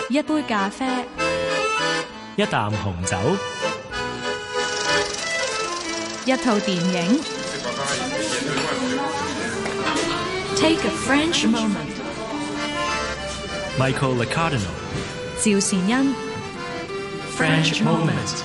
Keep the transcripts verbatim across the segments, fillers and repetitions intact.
一杯咖啡， 一啖紅酒， 一套電影。Take a French moment. Michael Licardino. 趙善恩。 French moment.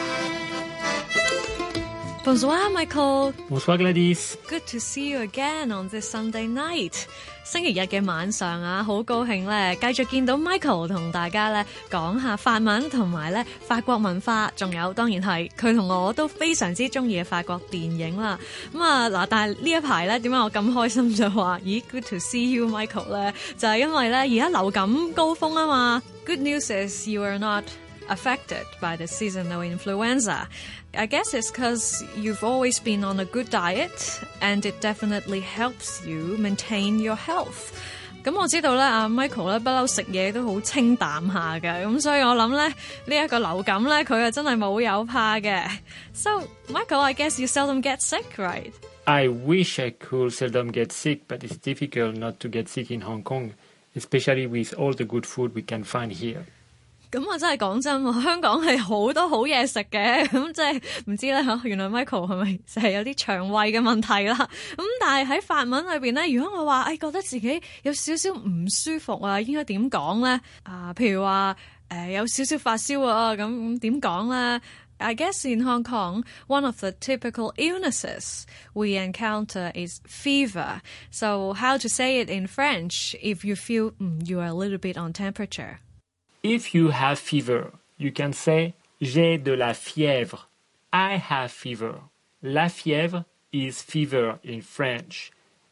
Bonsoir, Michael. Bonsoir, Gladys. Good to see you again on this Sunday night. 星期日嘅晚上啊，好高興咧，繼續見到 Michael 同大家咧講下法文同埋咧法國文化，仲有當然係佢同我都非常之中意嘅法國電影啦。咁啊嗱，但係呢一排咧，點解我咁開心就話咦 Good to see you, Michael 咧？就係因為咧而家流感高峰啊嘛。Good news is you are not affected by the seasonal influenza. I guess it's because you've always been on a good diet and it definitely helps you maintain your health. 咁我知道咧，阿 Michael 咧不嬲食嘢都好清淡下嘅，咁所以我諗咧呢一個流感咧佢啊真係冇有怕嘅。So Michael, I guess you seldom get sick, right? I wish I could seldom get sick, but it's difficult not to get sick in Hong Kong, especially with all the good food we can find here. 咁我真係講真喎，香港係好多好嘢食嘅，咁即係唔知咧嚇，原來 Michael 係咪就係有啲腸胃嘅問題啦？咁但係喺法文裏邊咧，如果我話誒、哎、覺得自己有少少唔舒服啊，應該點講咧？啊，譬如話誒、呃、有少少發燒啊，咁咁點講咧？I guess in Hong Kong, one of the typical illnesses we encounter is fever. So how to say it in French if you feel mm, you are a little bit on temperature? If you have fever, you can say j'ai de la fièvre. I have fever. La fièvre is fever in French.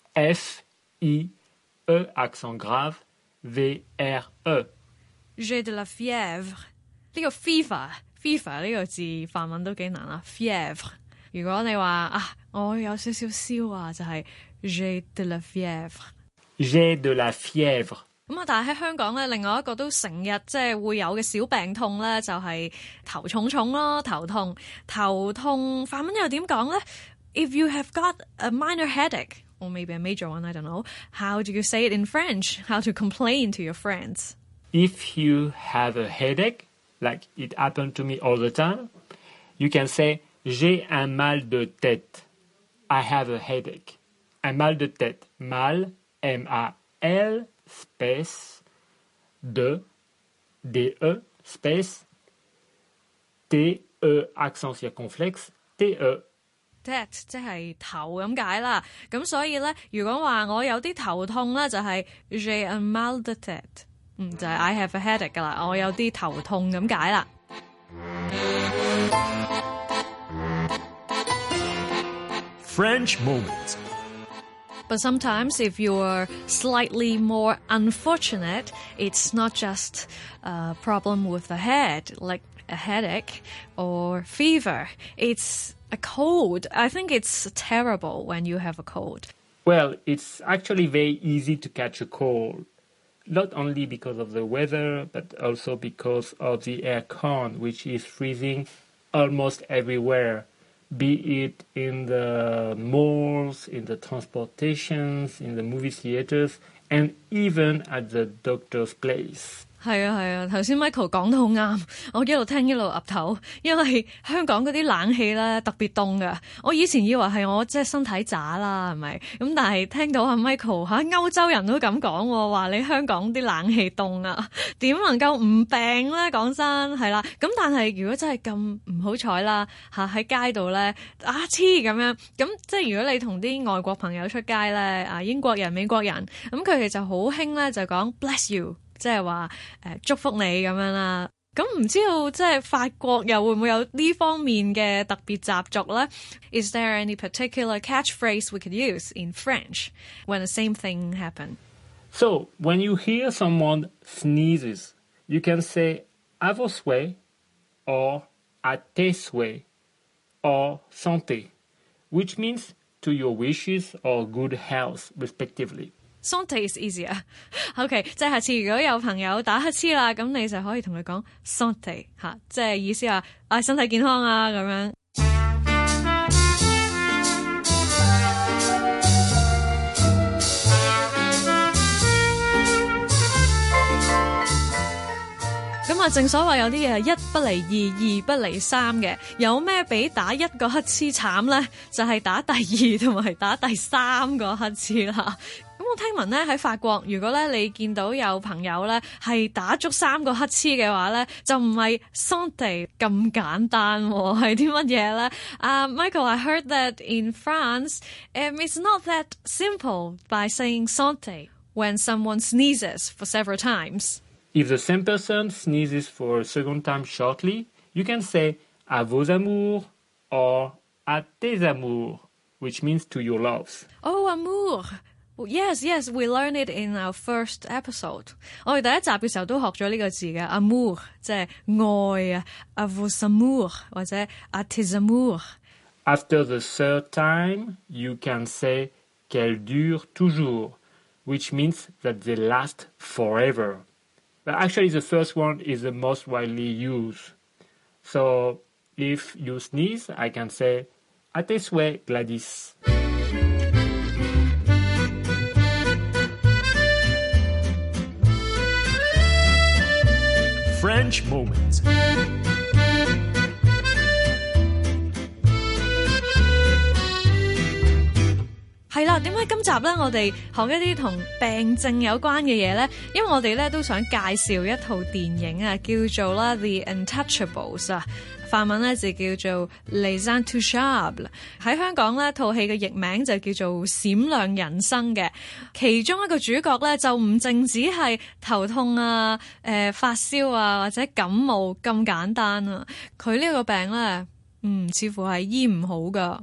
F I E accent grave V R E. J'ai de la fièvre. 呢個 fever fever 呢個字法文都幾難啦 fièvre 如果你話啊我有少少燒啊就係 j'ai de la fièvre J'ai de la fièvre 咁啊，但係喺香港咧，另外一個都成日即係會有嘅小病痛咧，就係頭重重咯，頭痛。頭痛法文又點講咧 ？If you have got a minor headache, or maybe a major one, I don't know. How do you say it in French? How to complain to your friends? If you have a headache, like it happened to me all the time, you can say j'ai un mal de tête. I have a headache. Un mal de tête. Mal, M A L space de D E space T E accent circonflexe T E tête 即係頭咁解啦，咁所以咧，如果話我有啲頭痛咧，就係 j'ai un mal de tête， 嗯，就係 I have a headache 噶啦，我有啲頭痛咁解啦。 French moment. But sometimes if you're slightly more unfortunate, it's not just a problem with the head, like a headache or fever. It's a cold. I think it's terrible when you have a cold. Well, it's actually very easy to catch a cold. Not only because of the weather, but also because of the air con, which is freezing almost everywhere. Be it in the malls, in the transportations, in the movie theaters, and even at the doctor's place. 係啊係啊，頭先 Michael 講得好啱，我一路聽一路岌頭，因為香港嗰啲冷氣咧特別凍㗎。我以前以為係我即係身體渣啦，係咪？咁但係聽到阿 Michael 嚇歐洲人都咁講喎，話你香港啲冷氣凍啊，點能夠唔病咧？講真係啦。咁但係如果真係咁唔好彩啦嚇喺街度咧啊黐咁樣，咁即係如果你同啲外國朋友出街咧啊英國人、美國人，咁佢哋就好興咧就講 bless you。即係話誒祝福你咁樣啦，咁唔知道即係法國又會唔會有呢方面嘅特別習俗咧 ？Is there any particular catchphrase we could use in French when the same thing happen? So, when you hear someone sneezes, you can say à vos souhaits or à tes souhaits or santé, which means to your wishes or good health, respectively. Santé is easier. OK， 即係下次如果有朋友打乞嗤啦，咁你就可以同佢講 santé 嚇，即係意思話啊身體健康啊咁樣。 咁啊，正所謂有啲嘢係一不離二，二不離三嘅。有咩比打一個乞嗤慘呢？就係、是、打第二同埋打第三個乞嗤啦。咁我聽聞咧喺法國，如果咧你見到有朋友咧係打足三個乞嗤嘅話咧，就唔係 santé 咁簡單喎，係啲乜嘢咧？啊、uh, Michael, I heard that in France, um, it's not that simple by saying santé when someone sneezes for several times. If the same person sneezes for a second time shortly, you can say à vos amours or à tes amours, which means to your loves. Oh, amour.Yes, yes, we learned it in our first episode. 我哋第一集嘅時候都學咗呢個字嘅 amour， 即係愛啊 à vos amours 或者 à tes amours. After the third time, you can say qu'elle dure toujours, which means that they last forever. But actually, the first one is the most widely used. So, if you sneeze, I can say à tes souhaits, Gladys. French Moment. 係啦，點解今集咧我哋學一啲同病症有關嘅嘢咧？因為我哋咧都想介紹一套電影啊，叫做啦《The Untouchables》啊，法文咧就叫做《Les Intouchables》。喺香港咧套戲嘅譯名就叫做《閃亮人生》嘅。其中一個主角咧就唔淨止係頭痛啊、誒、呃、發燒啊或者感冒咁簡單啊，佢呢個病咧，嗯，似乎係醫唔好噶。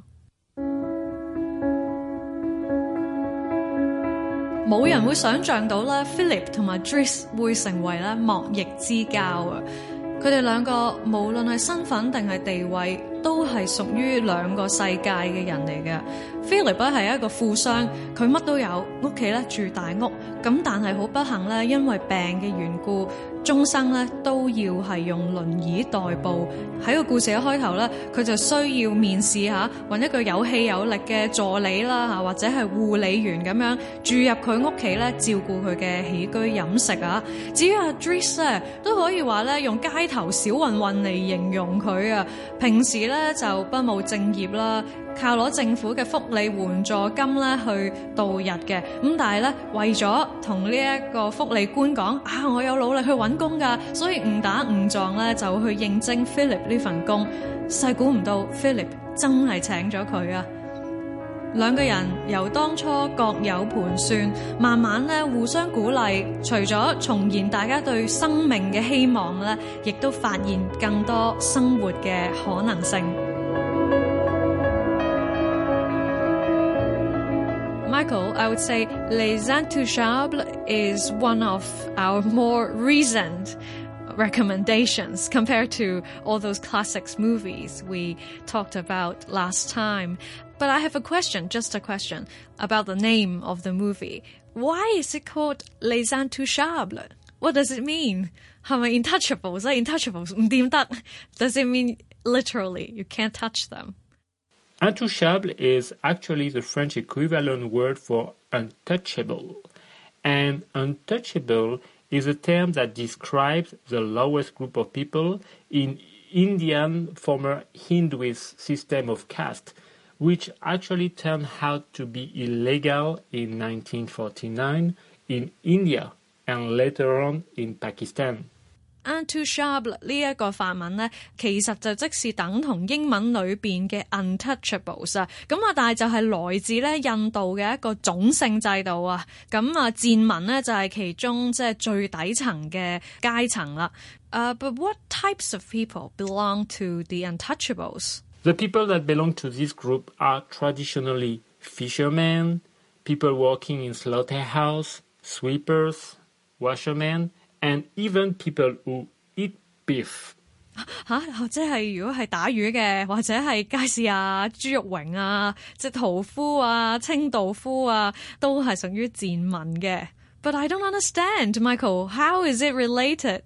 冇人會想像到咧 Philip 同埋 Driss 會成為咧莫逆之交啊！佢哋兩個無論係身份定係地位，都係屬於兩個世界嘅人嚟嘅。Philip 咧係一個富商，佢乜都有，屋企咧住大屋，咁但係好不幸咧，因為病嘅緣故，終生咧都要係用輪椅代步。喺個故事嘅開頭咧，佢就需要面試下，揾一個有氣有力嘅助理啦嚇，或者係護理員咁樣住入佢屋企咧，照顧佢嘅起居飲食啊。至於阿 Driss 咧，都可以話咧用街頭小混混嚟形容佢啊。平時咧就不務正業啦，靠攞政府嘅福利援助金咧去度日嘅。咁但係咧為咗同呢一個福利官講啊，我有努力去揾工㗎，所以誤打誤撞咧就去應徵 Philip 呢份工。細估唔到 Philip 真係請咗佢啊！兩個人由當初各有盤算，慢慢咧互相鼓勵，除咗重燃大家對生命嘅希望咧，亦都發現更多生活嘅可能性。Michael, I would say Les Intouchables is one of our more recent recommendations compared to all those classics movies we talked about last time. But I have a question, just a question, about the name of the movie. Why is it called Les Intouchables? What does it mean? 係咪 intouchables? Intouchables 唔掂得? Does it mean literally you can't touch them? Intouchable is actually the French equivalent word for untouchable. And untouchable is a term that describes the lowest group of people in Indian former Hinduist system of caste, which actually turned out to be illegal in nineteen forty-nine in India and later on in Pakistan. Intouchable 呢一個法文咧，其實就即是等同英文裏邊嘅 untouchables 啊，咁啊，但係就係來自咧印度嘅一個種姓制度啊，咁啊賤民咧就係其中即係最底層嘅階層啦。Uh, but what types of people belong to the untouchables? The people that belong to this group are traditionally fishermen, people working in slaughterhouse, sweepers, washermen, and even people who eat beef. 嚇，即係如果係打魚嘅，或者係街市啊、豬肉榮啊、即係屠夫啊、清道夫啊，都係屬於賤民嘅。But I don't understand, Michael. How is it related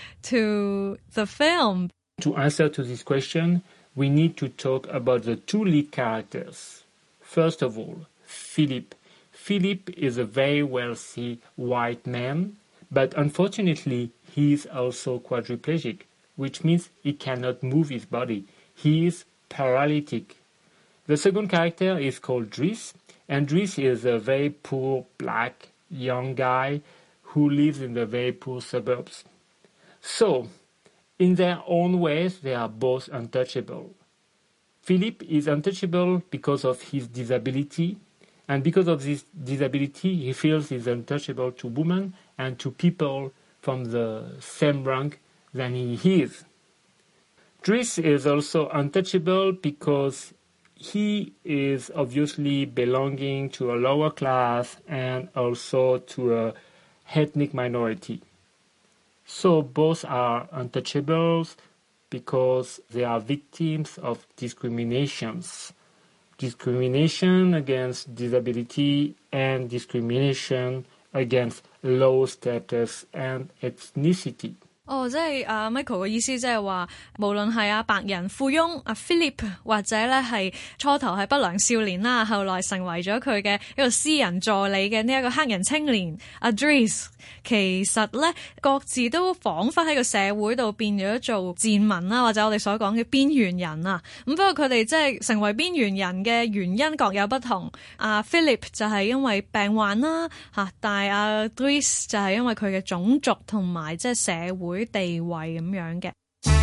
to the film? To answer to this question, we need to talk about the two lead characters. First of all, Philip. Philip is a very wealthy white man, but unfortunately he is also quadriplegic, which means he cannot move his body. He is paralytic. The second character is called Dries, and Dries is a very poor black young guy who lives in the very poor suburbs. So, in their own ways, they are both untouchable. Philip is untouchable because of his disability, and because of this disability, he feels he's untouchable to women and to people from the same rank than he is. Dries is also untouchable because he is obviously belonging to a lower class and also to a ethnic minority. So both are untouchables because they are victims of discriminations. Discrimination against disability and discrimination against low status and ethnicity. 哦，即係阿 Michael 嘅意思，即係話，無論係阿白人富翁阿 Philip， 或者咧係初頭係不良少年啦，後來成為咗佢嘅一個私人助理嘅呢一個黑人青年阿 Dries， 其實咧各自都彷彿喺個社會度變咗做賤民啦，或者我哋所講嘅邊緣人啊。咁不過佢哋即係成為邊緣人嘅原因各有不同。阿 Philip 就係因為病患啦嚇，但係阿 Dries 就係因為佢嘅種族同埋即係社會地位咁樣嘅。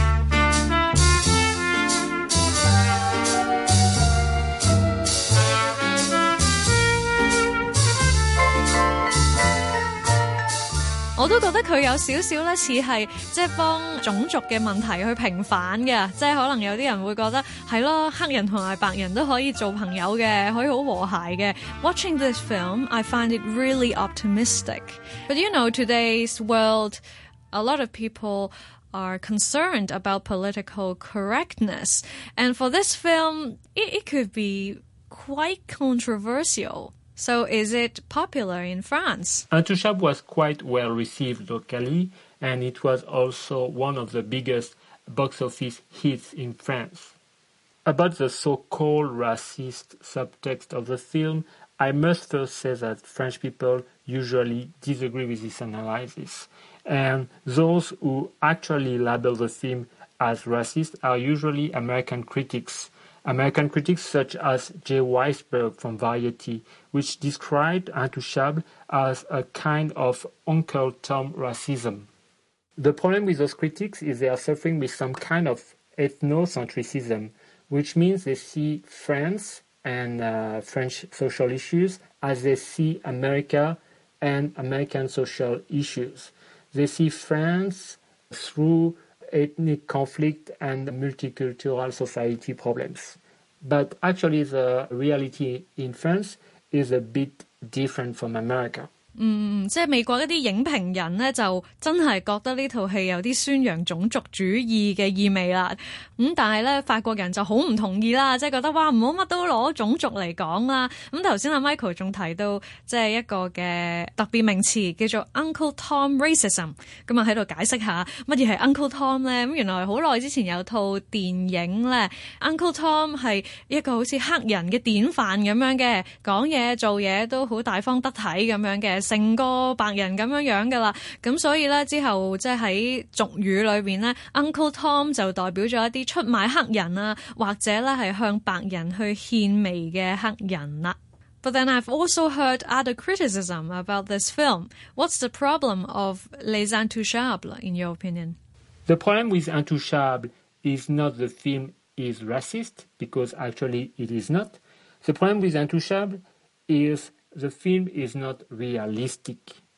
我都覺得佢有少少咧似係即係幫種族嘅問題去平反嘅，即係可能有啲人會覺得係咯，黑人同埋白人都可以做朋友嘅，可以好和諧嘅。Watching this film, I find it really optimistic. But you know, today's world, a lot of people are concerned about political correctness. And for this film, it, it could be quite controversial. So is it popular in France? Intouchable was quite well received locally, and it was also one of the biggest box office hits in France. About the so-called racist subtext of the film, I must first say that French people usually disagree with this analysis. And those who actually label the film as racist are usually American critics. American critics such as Jay Weisberg from Variety, which described Intouchable as a kind of Uncle Tom racism. The problem with those critics is they are suffering with some kind of ethnocentrism, which means they see France and uh, French social issues as they see America and American social issues. They see France through ethnic conflict and multicultural society problems. But actually the reality in France is a bit different from America. 嗯，即係美國一啲影評人呢，就真係覺得呢套戲有啲宣揚種族主義嘅意味啦。咁、嗯、但係咧，法國人就好唔同意啦，即係覺得哇，唔好乜都攞種族嚟講啦。咁頭先阿 Michael 仲提到即係一個嘅特別名詞叫做 Uncle Tom Racism， 咁啊喺度解釋下乜嘢係 Uncle Tom 咧？咁原來好耐之前有套電影咧 ，Uncle Tom 係一個好似黑人嘅典範咁樣嘅，講嘢做嘢都好大方得體咁樣嘅。成個白人咁樣樣噶啦，咁所以咧之後即係喺俗語裏邊咧 ，Uncle Tom 就代表咗一啲出賣黑人啊，或者咧係向白人去獻媚嘅黑人啦。But then I've also heard other criticism about this film. What's the problem of Les Intouchables, in your opinion? The problem with Intouchable is not the film is racist, because actually it is not. The problem with Intouchable is the film is not realistic,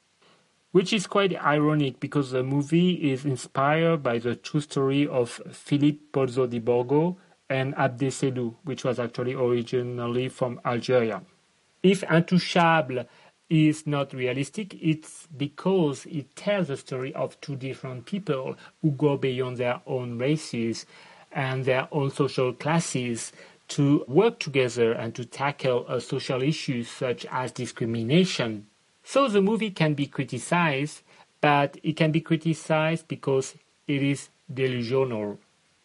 which is quite ironic because the movie is inspired by the true story of Philippe Pozzo di Borgo and Abdé Sellou, which was actually originally from Algeria. If Intouchable is not realistic, it's because it tells the story of two different people who go beyond their own races and their own social classes to work together and to tackle uh, social issues such as discrimination. So the movie can be criticized, but it can be criticized because it is delusional.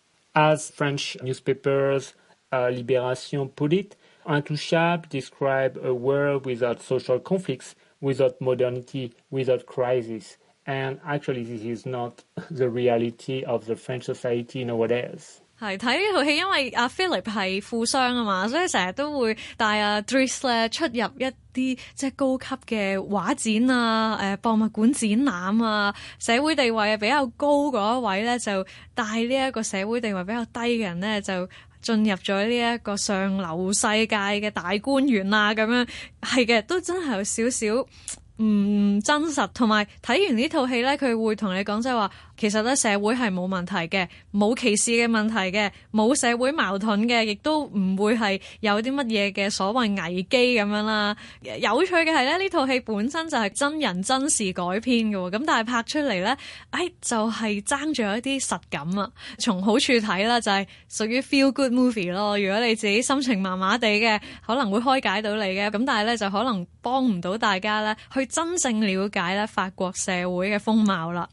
As French newspapers uh, Libération put it, Intouchable describes a world without social conflicts, without modernity, without crisis. And actually, this is not the reality of the French society nowadays. 係睇呢套戲，因為阿 Philip 係富商啊嘛，所以成日都會帶阿 Dries 咧出入一啲即係高級嘅畫展啊、誒博物館展覽啊，社會地位比較高嗰一位咧，就帶呢一個社會地位比較低嘅人咧，就進入咗呢一個上流世界嘅大官員啊，咁樣係嘅，都真係有少少唔真實。同埋睇完呢套戲咧，佢會同你講即係話，其實咧社會係冇問題嘅，冇歧視嘅問題嘅，冇社會矛盾嘅，亦都唔會係有啲乜嘢嘅所謂危機咁樣啦。有趣嘅係咧，呢套戲本身就係真人真事改編嘅喎，咁但係拍出嚟咧，誒就係爭咗一啲實感啊。從好處睇啦，就係屬於 feel good movie 咯。如果你自己心情麻麻地嘅，可能會開解到你嘅，咁但係咧就可能幫唔到大家咧去真正了解咧法國社會嘅風貌啦。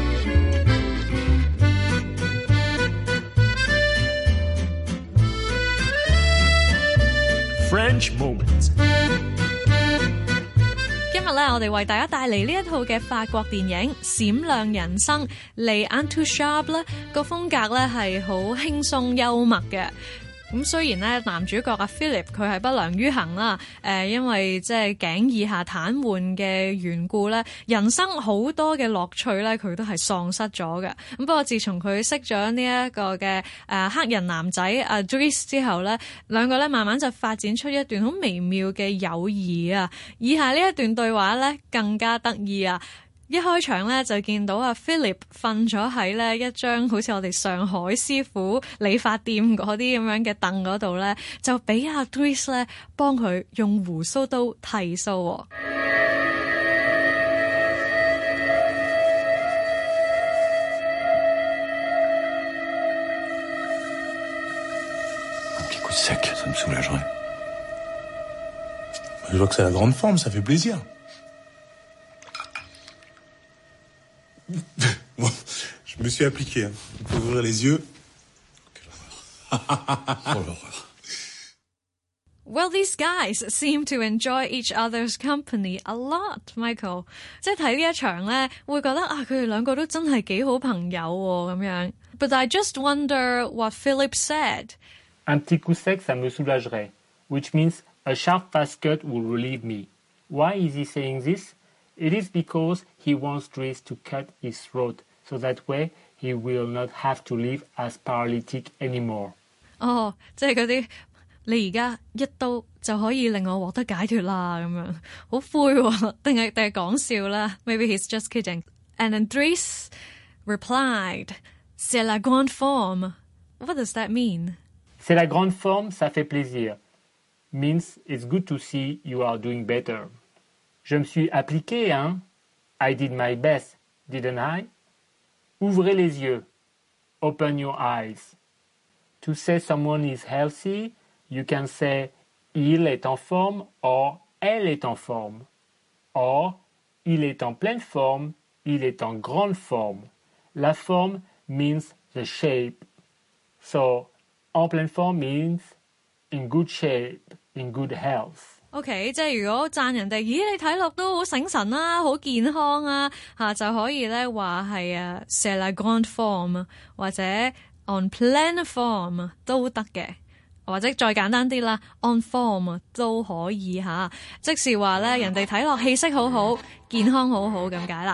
French Moments。 今日咧，我哋為大家帶嚟呢一套嘅法國電影《閃亮人生》Les Intouchables咧，個風格咧係好輕鬆幽默嘅。咁雖然咧男主角阿 Philip 佢係不良於行啦，誒、呃、因為即係頸以下癱瘓嘅緣故咧，人生好多嘅樂趣咧佢都係喪失咗嘅。咁不過自從佢識咗呢一個嘅誒、呃、黑人男仔阿 Dries 之後咧，兩個咧慢慢就發展出一段好微妙嘅友誼啊！以下呢一段對話咧更加得意啊！一開場咧就見到阿 Philip 瞓咗喺咧一張好似我哋上海師傅理髮店嗰啲咁樣嘅凳嗰度咧，就俾阿 Dries 咧幫佢用鬍鬚刀剃鬚喎。 Un petit coup de sec, ça me soulagerait. Je vois que c'est la grande forme, ça fait plaisir. Bon, je me suis appliqué. Hein. Il faut ouvrir les yeux. Quelle horreur. Oh l'horreur. Well, these guys seem to enjoy each other's company a lot, Michael. 即係睇呢一場咧，會覺得啊，佢哋兩個都真係幾好朋友喎咁樣。But I just wonder what Philip said. Un petit coup sec, ça me soulagerait, which means a sharp fast cut will relieve me. Why is he saying this? It is because he wants Dries to cut his throat, so that way he will not have to live as paralytic anymore. 哦，即係嗰啲你而家一刀就可以令我獲得解脫啦，咁樣好灰喎，定係定係講笑啦 ？Maybe he's just kidding. And then Dries replied, "C'est la grande forme." What does that mean? C'est la grande forme, ça fait plaisir. Means it's good to see you are doing better. Je me suis appliqué, hein? I did my best, didn't I? Ouvrez les yeux. Open your eyes. To say someone is healthy, you can say il est en forme or elle est en forme. Or, il est en pleine forme, il est en grande forme. La forme means the shape. So, en pleine forme means in good shape, in good health. OK， 即係如果讚人哋，咦你睇落都好醒神啦，好健康啊，嚇就可以咧話係啊 c'est la grande forme 或者 en pleine forme 都得嘅，或者再簡單啲啦 en forme 都可以嚇，即是話咧人哋睇落氣色好好，健康好好咁解啦。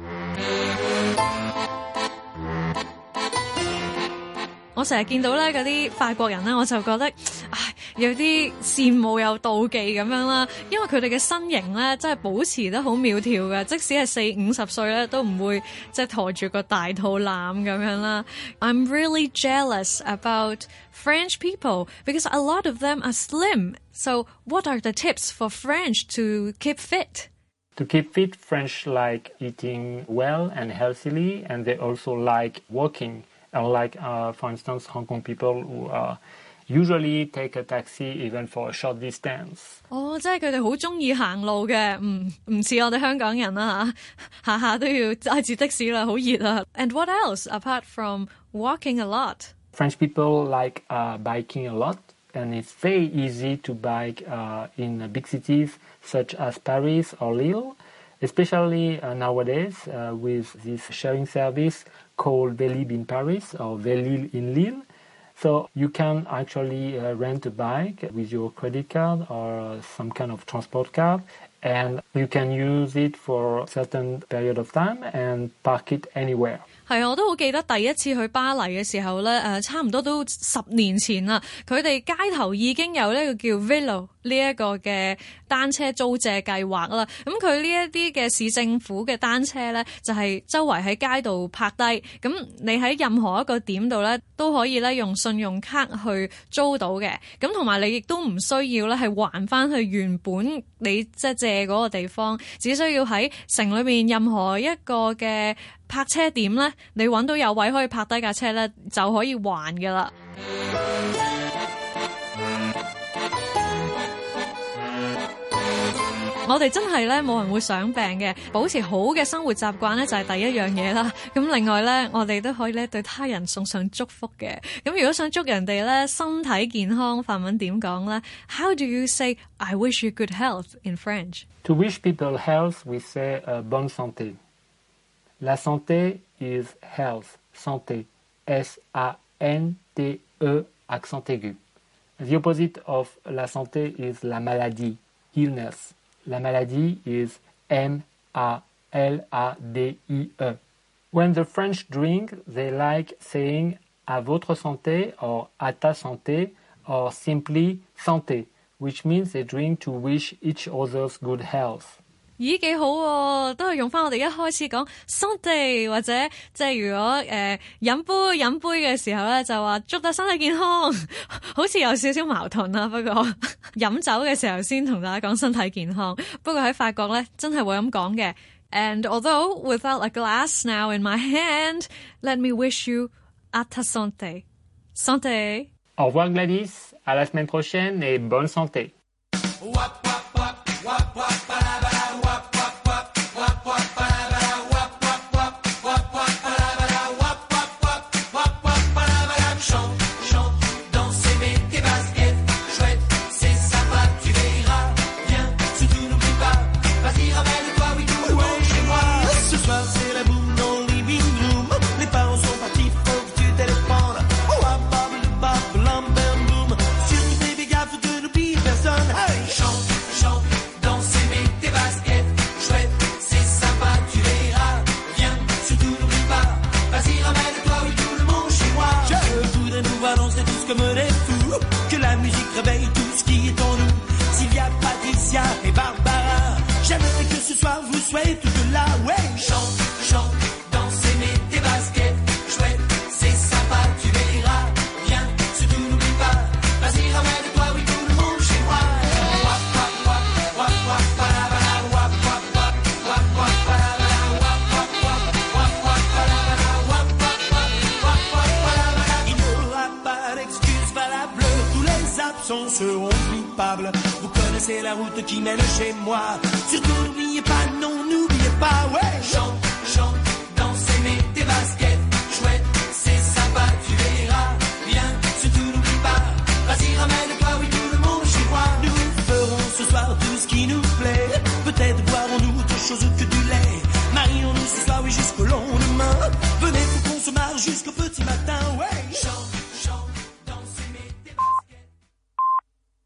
我成日見到咧嗰啲法國人咧，我就覺得唉有啲羨慕又妒忌咁樣啦，因為佢哋嘅身形咧真係保持得好苗條嘅，即使係四五十歲咧都唔會即係駝住個大肚腩咁樣啦。I'm really jealous about French people because a lot of them are slim. So what are the tips for French to keep fit? To keep fit, French like eating well and healthily, and they also like walking. Unlike, uh, for instance, Hong Kong people who uh, usually take a taxi even for a short distance. 哦，即係佢哋好中意行路嘅，唔唔似我哋香港人啦嚇，下下都要揸住的士啦，好熱啊。And what else apart from walking a lot? French people like uh, biking a lot, and it's very easy to bike uh, in big cities such as Paris or Lille. especially uh, nowadays uh, with this sharing service called Vélib in Paris or Vélib in Lille. So you can actually uh, rent a bike with your credit card or some kind of transport card, and you can use it for a certain period of time and park it anywhere. 係，我都好記得第一次去巴黎嘅時候咧，誒差唔多都十年前啦。佢哋街頭已經有呢個叫 Vélo 呢一個嘅單車租借計劃啦。咁佢呢一啲嘅市政府嘅單車咧，就係周圍喺街度泊低。咁你喺任何一個點度咧，都可以咧用信用卡去租到嘅。咁同埋你亦都唔需要咧係還翻去原本你即係借嗰個地方，只需要喺城裏面任何一個嘅泊車點咧，你揾到有位可以泊低架車咧，就可以還㗎啦。我哋真係咧冇人會想病嘅，保持好嘅生活習慣咧就係第一樣嘢啦。咁另外咧，我哋都可以咧對他人送上祝福嘅。咁如果想祝人哋咧身體健康，法文點講咧 ？How do you say I wish you good health in French? To wish people health, we say uh, bonne santé. La santé is health, santé, S A N T E, accent aigu. The opposite of la santé is la maladie, illness. La maladie is M A L A D I E. When the French drink, they like saying à votre santé or à ta santé or simply santé, which means they drink to wish each other's good health. 咦幾好喎，都係用翻我哋一開始講 santé 或者即係如果誒、呃、飲杯飲杯嘅時候咧，就話祝大家身體健康，好似有少少矛盾啦。不過飲酒嘅時候先同大家講身體健康，不過喺法國咧真係會咁講嘅。And although without a glass now in my hand, let me wish you à ta santé. Santé. Au revoir Gladys, à la semaine prochaine et bonne santé. Que la musique réveille tout ce qui est en nous. Sylvia, Patricia et Barbara, j'aimerais que ce soir vous soyez toutes là, ouais. Chante, chante, dansez, mets tes baskets, chouette, c'est sympa, tu verras. Viens, surtout n'oublie pas, vas-y ramène toi, oui tout le monde chez moi. Wap wap wap, wap wap palabala, wap wap wap, wap wap palabala, wap wap wap, wap wap palabala, wap wap wap, wap wap palabala. Il n'y aura pas d'excuse valable. Absents seront coupables. Vous connaissez la route qui mène chez moi. Surtout n'oubliez pas, non, n'oubliez pas, ouais. Chante.